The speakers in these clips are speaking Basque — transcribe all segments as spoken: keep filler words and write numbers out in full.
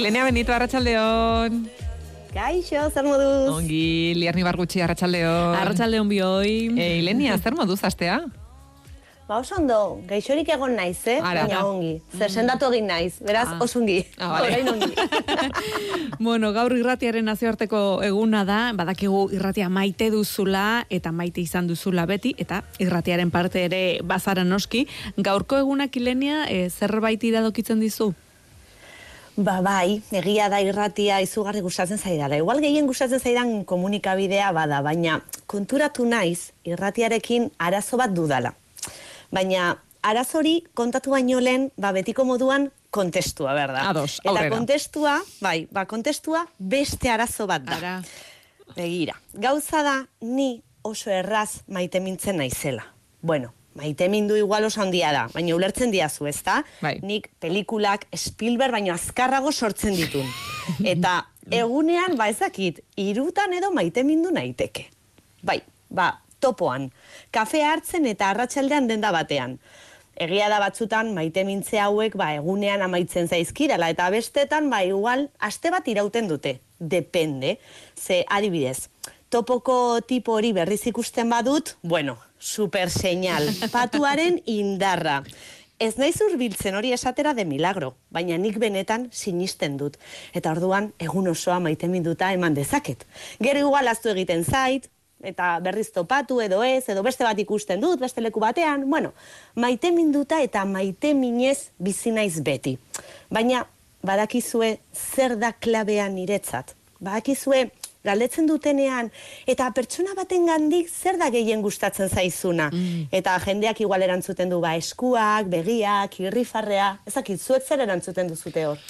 Ilenia Benito, arratsaldeon. Kaixo, zer moduz? Ongi, Lierni Bargutxi, arratsaldeon. Arratsaldeon bioi. E, Ilenia, zer moduz astea? Ba, oso ondo, gaixorik egon naiz, eh? Ara. Baina ongi. Zer sendatu egin naiz, beraz, Ah. oso ongi. Ah, vale. Orain ongi. Bueno, gaur irratiaren nazioarteko eguna da, badakigu irratia maite duzula eta maite izan duzula beti, eta irratiaren parte ere bazara noski. Gaurko egunak, Ilenia, e, zerbait iradokitzen dizu? Ba, bai, egia da irratia izugarri gustatzen zaidala. Igual gehien gustatzen zaidan komunikabidea bada, baina konturatu naiz irratiarekin arazo bat dudala. Baina arazori kontatu baino lehen, ba, betiko moduan kontestua, berda. Ados, Eta aurrera. kontestua, bai, ba, kontestua beste arazo bat da. Ara. Begira, gauza da ni oso erraz maite mintzen naizela. Bueno, maite mindu igual oso handia da, baina ulertzen diazu, ezta? Bai. Nik pelikulak Spielberg baino azkarrago sortzen ditun. Eta egunean, ba ezakit, irutan edo maite mindu naiteke. Bai, ba, topoan. Kafea hartzen eta arratsaldean denda batean. Egia da batzutan maite mintze hauek ba, egunean amaitzen zaizkirala, eta bestetan ba, igual aste bat irauten dute. Depende. Ze adibidez, topoko tipo hori berriz ikusten badut, bueno, super señal, patuaren indarra. Ez naiz hurbiltzen hori esatera de milagro, baina nik benetan sinisten dut. Eta orduan, egun osoa maite minduta eman dezaket. Gero igual aztu egiten zait, eta berriz topatu edo ez, edo beste bat ikusten dut, beste leku batean, bueno, maite minduta eta maite minez bizi naiz beti. Baina, badakizue zer da klabea niretzat. Badakizue, galdetzen dutenean, eta pertsona baten gandik zer da gehien gustatzen zaizuna. Mm. Eta jendeak igual erantzuten du, ba, eskuak, begiak, irrifarrea, ezakit, zuek zer erantzuten duzute hor?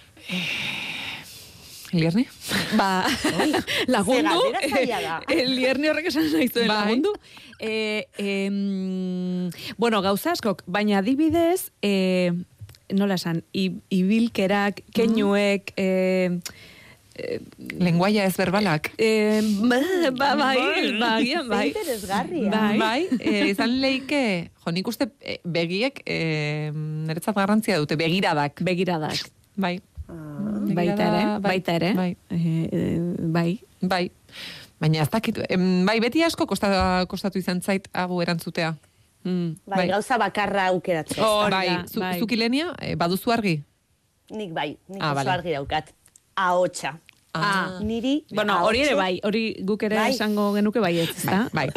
Lierni? Ba, lagundu. Ze galdera zaila da. Eh, Lierni horrek esan nahi zuen Bai. lagundu. Eh, em, bueno, gauza askok, baina adibidez, eh, nola esan, i- ibilkerak, keinuek, eh, Lenguaia ez berbalak. eh, ba, ba, bai, ba, agian, bai. Ze interesgarria. Bai. Bai, e, izan leike, jo, nik uste e, begiek e, niretzat garrantzia dute, begiradak. Begiradak. Bai. Baita ere, Begirada, bai, baita ere. Bai, Eh, eh, bai. bai. Baina ez dakit, em, bai, beti asko kosta, kostatu izan zait hagu erantzutea. Mm. Bai, Bai. gauza bakarra aukeratzea. Hori bai, da, zu, bai. zuk Ilenia, e, baduzu argi? Nik bai, nik Ah, oso vale. argi daukat. Ahotsa. Ah. Niri Bueno, hori ere ahotsa- bai, hori guk ere Bai. esango genuke bai ez, ezta? Bai.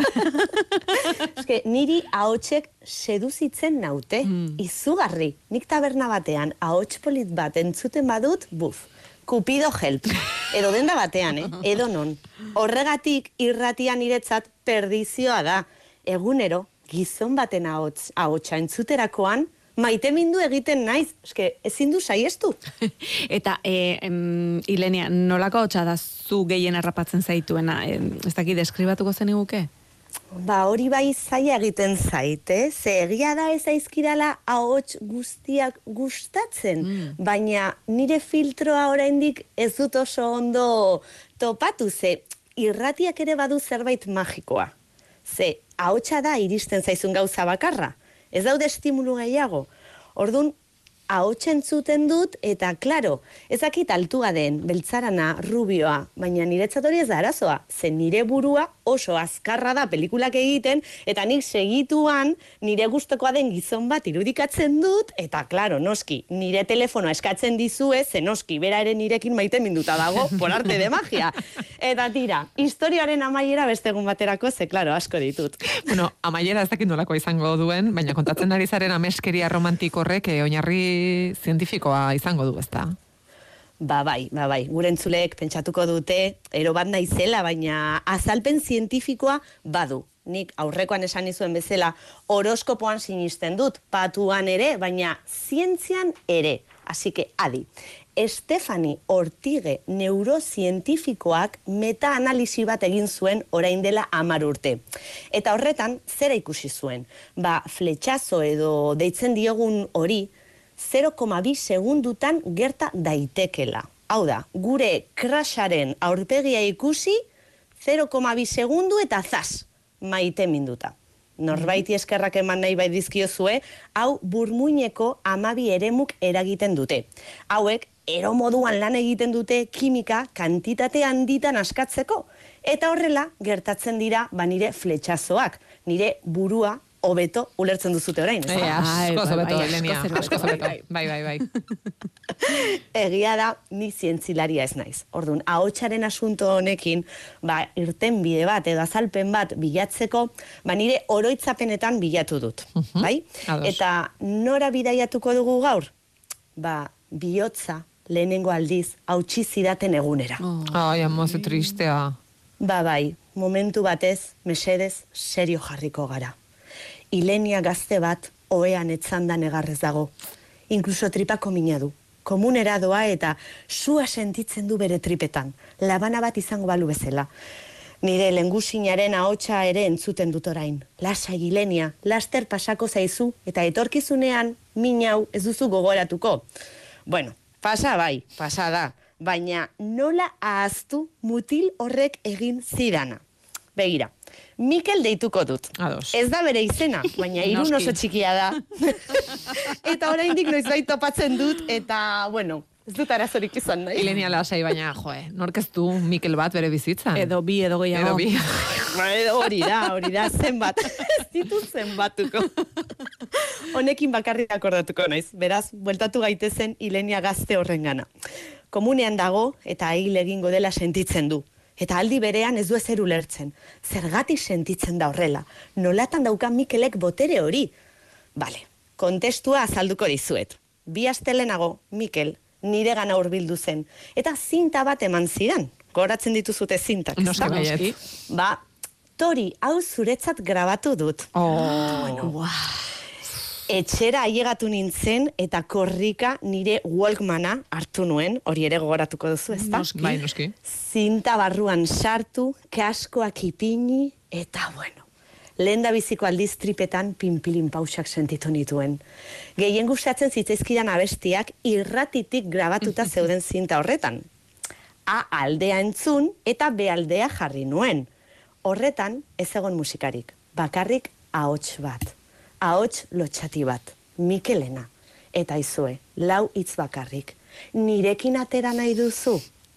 Eske, niri ahotsek seduzitzen naute, izugarri. Nik taberna batean ahots polit bat entzuten badut, buf, Cupido help. Edo denda batean, eh? Edo non. Horregatik irratia niretzat perdizioa da. Egunero, gizon baten ahots, ahotsa entzuterakoan, maite mindu egiten naiz. Eske, ezin du saiestu. Eta, e, em, Ilenia, nolako hotza da zu gehien harrapatzen zaituena? E, ez dakit, deskribatuko zeniguke? Ba, hori bai zaila egiten zaite, ze egia da ez aizkirala ahots guztiak gustatzen, baina nire filtroa oraindik ez dut oso ondo topatu, ze irratiak ere badu zerbait magikoa. Ze ahotsa da iristen zaizun gauza bakarra, ez daude estimulu gehiago. Ordun ahotsa entzuten dut, eta, klaro, ezakit altua den, beltzarana, rubioa, baina niretzat hori ez da arazoa, ze nire burua oso azkarra da pelikulak egiten, eta nik segituan nire gustokoa den gizon bat irudikatzen dut, eta, klaro, noski, nire telefonoa eskatzen dizue, ze noski, bera ere nirekin maite minduta dago, por arte de magia. Eta tira, historiaren amaiera beste egun baterako, ze, klaro, asko ditut. Bueno, amaiera ez dakit nolako izango duen, baina kontatzen ari zaren ameskeria romantik horrek e, oinarri zientifikoa izango du, ezta? Ba bai, ba bai, gure entzuleek pentsatuko dute, ero bat naizela, baina azalpen zientifikoa badu. Nik aurrekoan esan nizuen bezala horoskopoan sinisten dut, patuan ere, baina zientzian ere. Así que, adi, Stefani Ortige neurozientifikoak meta-analisi bat egin zuen orain dela hamar urte. Eta horretan, zera ikusi zuen? Ba, fletxazo edo deitzen diogun hori, zero koma bi segundutan gerta daitekela. Hau da, gure crasharen aurpegia ikusi, zero koma bi segundu eta zaz, maite minduta. Norbaiti eskerrak eman nahi bai dizkiozue, hau burmuineko amabi eremuk eragiten dute. Hauek, ero moduan lan egiten dute kimika kantitate handitan askatzeko. Eta horrela, gertatzen dira, ba nire fletxazoak, nire burua hobeto ulertzen duzute orain. E, asko zobeto, Elenia, asko zobeto. Bai, bai, bai. Egia da, ni zientzilaria ez naiz. Orduan, ahotsaren asunto honekin, ba, irten bide bat edo azalpen bat bilatzeko, ba, nire oroitzapenetan bilatu dut. Uh-huh. Bai? Ados. Eta nora bidaiatuko dugu gaur? Ba, bihotza lehenengo aldiz hautsi zidaten egunera. Oh. Ai, amoze tristea. Ba, bai, momentu batez, mesedez, serio jarriko gara. Ilenia gazte bat, ohean etzandan egarrez dago. Inkluso tripako mina du. Komunera doa eta sua sentitzen du bere tripetan. Labana bat izango balu bezala. Nire lengusinaren ahotsa ere entzuten dut orain. Lasai, Ilenia, laster pasako zaizu eta etorkizunean min hau ez duzu gogoratuko. Bueno, pasa bai, pasa da. Baina nola ahaztu mutil horrek egin zidana. Begira. Mikel deituko dut. Ados. Ez da bere izena, baina irun oso txikia da. Eta oraindik noizbait topatzen dut, eta, bueno, ez dut arazorik izan nahi. Ilenia lasai, baina, joe, nork ez du Mikel bat bere bizitzan. Edo bi, edo gehiago. Edo bi. Hori da, hori da, zenbat. Ez ditu zenbatuko. Honekin bakarrik akordatuko naiz. Beraz, bueltatu gaitezen Ilenia gazte horrengana. Komunean dago eta hil egingo dela sentitzen du. Eta aldi berean ez du ezer ulertzen. Zergatik sentitzen da horrela. Nolatan dauka Mikelek botere hori. Bale, kontestua azalduko dizuet. Bi astelenago, Mikel nire gana hurbildu zen. Eta zinta bat eman zidan. Goratzen dituzute zintak. Noski baiet. Ba, Tori, hau zuretzat grabatu dut. Oh, bueno. Etxera ailegatu nintzen eta korrika nire Walkmana hartu nuen, hori ere gogoratuko duzu, ezta? Noski. Bai, noski. Zinta barruan sartu, kaskoak ipini, eta bueno, lehen da biziko aldiz tripetan pinpilin pausak sentitu nituen. Gehien gustatzen zitzaizkidan abestiak irratitik grabatuta zeuden zinta horretan. A aldea entzun eta B aldea jarri nuen. Horretan ez egon musikarik, bakarrik ahots bat. Ahots lotxati bat, Mikelena. Eta izue, lau hitz bakarrik. Nirekin atera nahi duzu?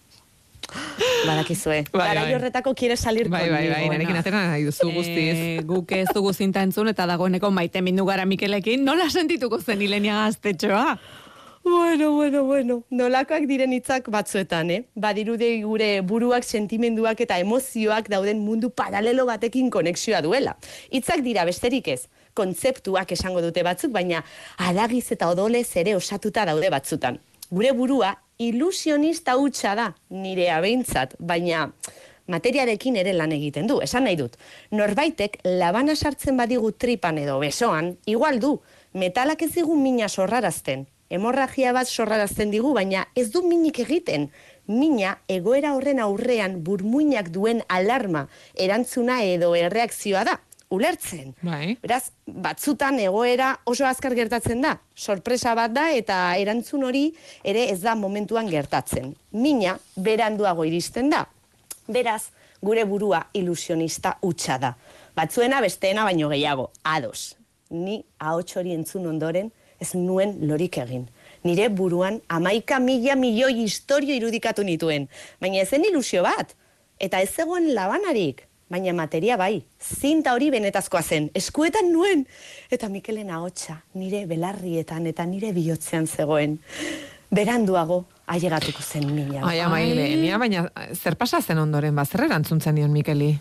Badakizue, bai, garai bai. horretako quiere salir Bai, conmigo. bai, bai, nirekin atera nahi duzu guztiz. Eh, guk ez dugu zinta entzun eta dagoeneko maite mindu gara Mikelekin, nola sentituko zen Ilenia gaztetxoa? Bueno, bueno, bueno, nolakoak diren hitzak batzuetan, eh? Badirudi gure buruak, sentimenduak eta emozioak dauden mundu paralelo batekin konexioa duela. Hitzak dira besterik ez, kontzeptuak esango dute batzuk, baina haragiz eta odolez ere osatuta daude batzutan. Gure burua ilusionista hutsa da, nirea behintzat, baina materiarekin ere lan egiten du, esan nahi dut. Norbaitek labana sartzen badigu tripan edo besoan, igual du, metalak ez digu mina sorrarazten. Hemorragia bat sorrarazten digu, baina ez du minik egiten. Mina egoera horren aurrean burmuinak duen alarma, erantzuna edo erreakzioa da. Ulertzen. Bai. Beraz, batzutan egoera oso azkar gertatzen da. Sorpresa bat da eta erantzun hori ere ez da momentuan gertatzen. Mina beranduago iristen da. Beraz, gure burua ilusionista hutsa da. Batzuena besteena baino gehiago. Ados. Ni ahots hori entzun ondoren ez nuen lorik egin. Nire buruan hamaika mila milioi historio irudikatu nituen. Baina ezen ilusio bat. Eta ez zegoen labanarik. Baina materia bai, zinta hori benetazkoa zen, eskuetan nuen. Eta Mikelen ahotsa nire belarrietan eta nire bihotzean zegoen. Beranduago ailegatuko zen mina. Ai, ama Ilenia, baina zer pasa zen ondoren, ba, zer erantzuntzen nion Mikeli?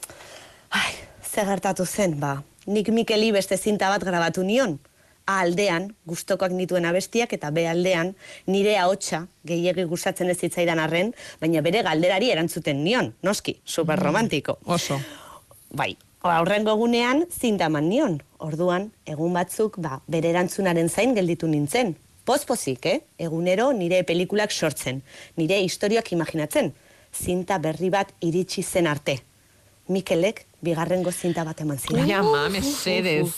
Ai, zer gertatu zen, ba. Nik Mikeli beste zinta bat grabatu nion. A aldean, gustokoak nituen abestiak, eta B aldean, nire ahotsa gehiegi gustatzen ez zitzaidan arren, baina bere galderari erantzuten nion, noski, superromantiko. Oso. Bai, aurrengo egunean zinta eman nion. Orduan, egun batzuk, ba, bere erantzunaren zain gelditu nintzen. Pozpozik, eh? Egunero nire pelikulak sortzen, nire historiak imaginatzen. Zinta berri bat iritsi zen arte. Mikelek bigarrengo zinta bat eman zidan. Ai, ama, mesedez.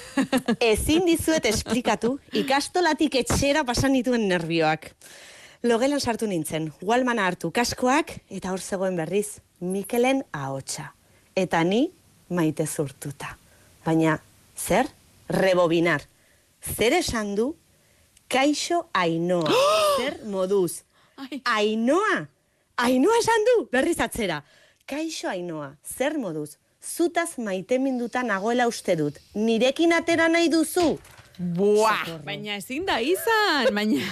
Ezin dizuet esplikatu, ikastolatik etxera pasan dituen nervioak. Logelan sartu nintzen, Walmana hartu kaskoak, eta hor zegoen berriz, Mikelen ahotsa. Eta ni maite zurtuta. Baina, zer? Rebobinar. Zer esan du? Kaixo Ainoa. zer moduz. Ainoa, Ainoa esan du, berriz atzera. Kaixo Ainoa, zer moduz, zutaz maiteminduta nagoela uste dut, nirekin atera nahi duzu? Buah, baina ezin da izan, baina...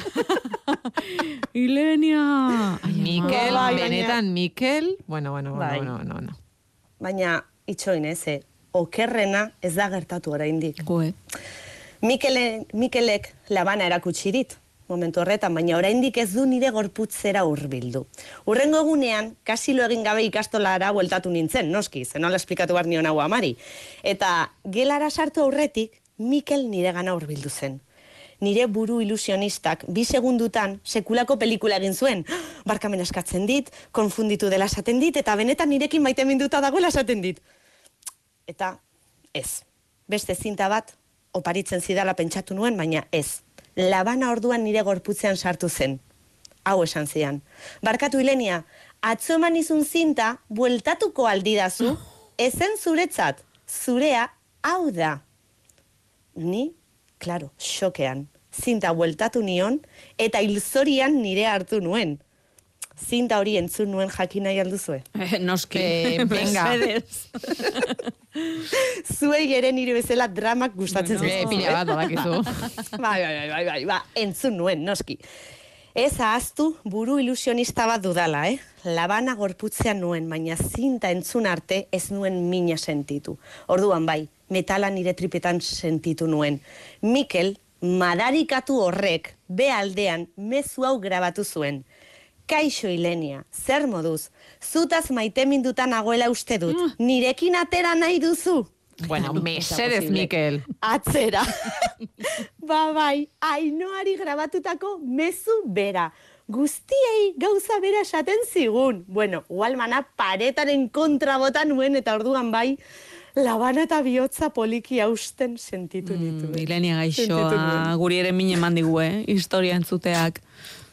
Ilenia... Mikel, Bai, benetan Mikel, bueno, bueno, bueno, Bai. bueno, bueno, bueno. Baina, itxoin ez, eh, okerrena ez da gertatu oraindik. Goe. Mikele, Mikelek labana erakutsi dit, momentu horretan, baina oraindik ez du nire gorputzera hurbildu. Urrengo egunean, kasilo egin gabe ikastolara bueltatu nintzen, noski, zenola esplikatu behar nion hau amari. Eta gelara sartu aurretik, Mikel nire gana hurbildu zen. Nire buru ilusionistak bi segundutan sekulako pelikula egin zuen. Barkamen eskatzen dit, konfunditu dela esaten dit, eta benetan nirekin maiteminduta dagoela esaten dit. Eta ez. Beste zinta bat, oparitzen zidala pentsatu nuen, baina ez. Labana orduan nire gorputzean sartu zen. Hau esan zian. Barkatu Ilenia, atzo eman izun zinta, bueltatuko aldidazu, ezen zuretzat, zurea hau da. Ni, claro, xokean, zinta bueltatu nion, eta hilzorian nire hartu nuen. Zinta hori entzun nuen jakin nahi alduzue. Eh, noski, Eh, venga. mesedez. Zuei ere nire bezala dramak gustatzen Bueno, zaizkizue. pila bat badakizu. Bai, bai, bai, bai, bai, ba, entzun nuen, noski. Ez ahaztu buru ilusionista bat dudala, eh? Labana gorputzean nuen, baina zinta entzun arte ez nuen mina sentitu. Orduan bai, metala nire tripetan sentitu nuen. Mikel, madarikatu horrek, be aldean, mezu hau grabatu zuen. Kaixo Ilenia, zer moduz, zutaz maiteminduta nagoela uste dut, nirekin atera nahi duzu? Bueno, Ez da mesedez, posible. Mikel. Atzera. Ba bai, Ainoari grabatutako mezu bera. Guztiei gauza bera esaten zigun. Bueno, Walmana paretaren kontra bota nuen eta orduan bai, labana eta bihotza poliki hausten sentitu nituen. Mm, Ilenia Sentitu gaixoa, nuen. guri ere mine eman digu, eh? Historia entzuteak.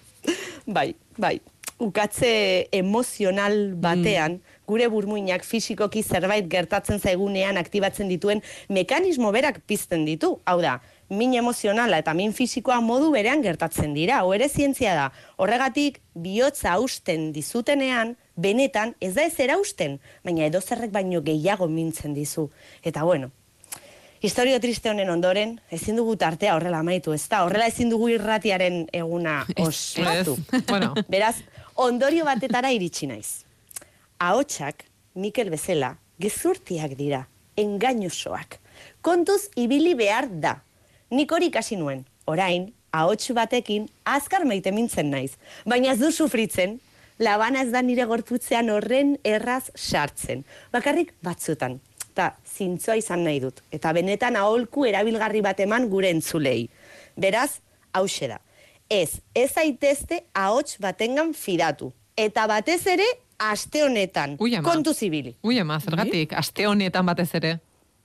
Bai, bai. Ukatze emozional batean, gure burmuinak fisikoki zerbait gertatzen zaigunean aktibatzen dituen mekanismo berak pizten ditu. Hau da, min emozionala eta min fisikoa modu berean gertatzen dira. Hau ere zientzia da. Horregatik, bihotza hausten dizutenean, benetan ez da ez erausten, baina edozerrek baino gehiago mintzen dizu. Eta bueno, historio triste honen ondoren, ezin dugu tartea horrela amaitu, ez da? Horrela ezin dugu irratiaren eguna ospatu. Ez, bueno. Beraz, ondorio batetara iritsi naiz. Ahotsak, Mikel bezala, gezurtiak dira, engainosoak. Kontuz ibili behar da. Nik hori ikasi nuen, orain, ahots batekin azkar maite mintzen naiz. Baina ez du sufritzen, labana ez da nire gorputzean horren erraz sartzen. Bakarrik batzutan. Eta zintzoa izan nahi dut. Eta benetan aholku erabilgarri bat eman gure entzulei. Beraz, hauxe da. Ez, ez aitezte ahots batengan fidatu. Eta batez ere, aste honetan. Ui, ama. Kontu zibili. Ui, ama, zergatik, aste honetan batez ere.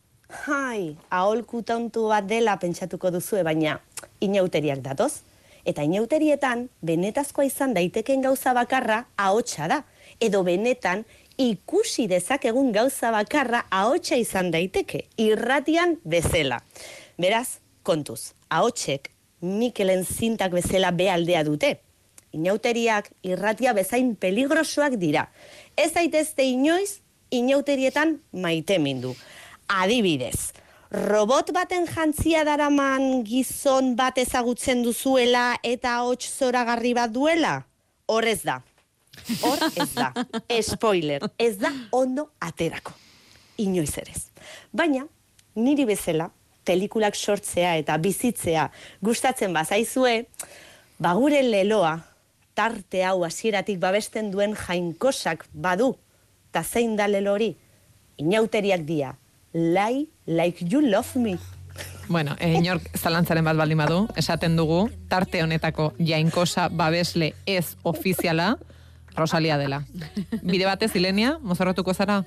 Hai, aholku tontu bat dela pentsatuko duzue, baina inauteriak datoz. Eta inauterietan, benetazkoa izan daiteken gauza bakarra ahotsa da. Edo benetan, ikusi dezakegun gauza bakarra ahotsa izan daiteke, irratian bezala. Beraz, kontuz, ahotsek Mikelen zintak bezala behaldea dute. Inauteriak irratia bezain peligrosoak dira. Ez daitezte inoiz, inauterietan maite mindu. Adibidez, robot baten jantzia daraman gizon bat ezagutzen duzuela eta ahots zoragarri bat duela? Hor ez da. Hor ez da. Spoiler, ez da ondo aterako. Inoiz erez. Baina, niri bezala, pelikulak sortzea eta bizitzea gustatzen bazaizue, bagure leloa, tarte hau hasieratik babesten duen jainkosak badu. Ta zein da lelo hori? Inauteriak dia. Lie like you love me. Bueno, e, inork zalantzaren bat baldin badu, esaten dugu, tarte honetako jainkosa babesle ez ofiziala, Rosalia dela. Bide batez, Ilenia, mozorrotuko zara?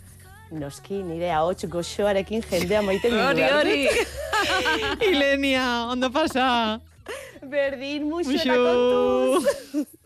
Noski, nire ahots goxoarekin jendea maite mindu. Hori, hori. Ilenia, ondo pasa. Berdin, muxo eta Muxo. kontuz.